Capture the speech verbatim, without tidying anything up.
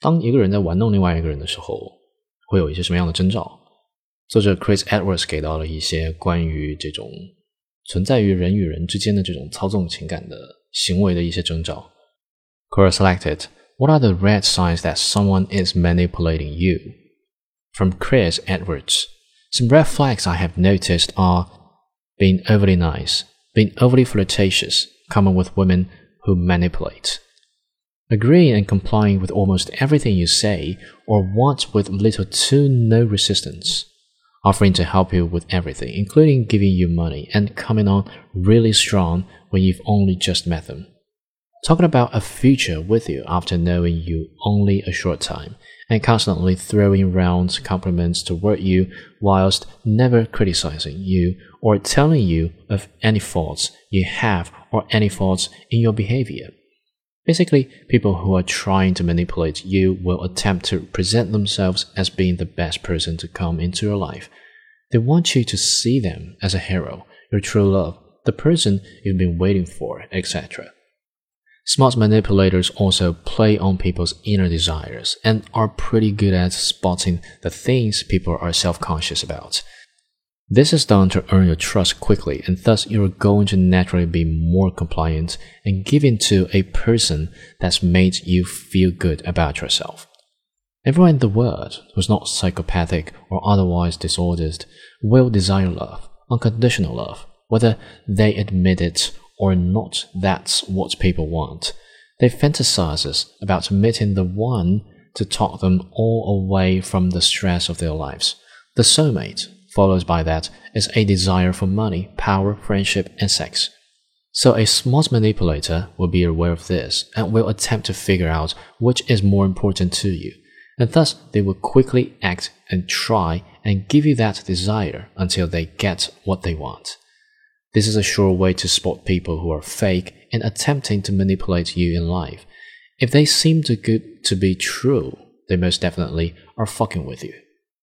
当一个人在玩弄另外一个人的时候，会有一些什么样的征兆？作者 Chris Edwards 给到了一些关于这种存在于人与人之间的这种操纵情感的行为的一些征兆。Quora selected, what are the red signs that someone is manipulating you? From Chris Edwards, some red flags I have noticed are being overly nice, being overly flirtatious, common with women who manipulate. Agreeing and complying with almost everything you say or want with little to no resistance. Offering to help you with everything, including giving you money and coming on really strong when you've only just met them. Talking about a future with you after knowing you only a short time, and constantly throwing round compliments toward you whilst never criticizing you or telling you of any faults you have or any faults in your behavior. Basically, people who are trying to manipulate you will attempt to present themselves as being the best person to come into your life. They want you to see them as a hero, your true love, the person you've been waiting for, et cetera. Smart manipulators also play on people's inner desires and are pretty good at spotting the things people are self-conscious about. This is done to earn your trust quickly, and thus you're going to naturally be more compliant and giving to a person that's made you feel good about yourself. Everyone in the world who's not psychopathic or otherwise disordered will desire love, unconditional love, whether they admit it or not. That's what people want. They fantasize about meeting the one to talk them all away from the stress of their lives. The soulmate, followed by that, is a desire for money, power, friendship, and sex. So a smart manipulator will be aware of this and will attempt to figure out which is more important to you, and thus they will quickly act and try and give you that desire until they get what they want. This is a sure way to spot people who are fake and attempting to manipulate you in life. If they seem too good to be true, they most definitely are fucking with you.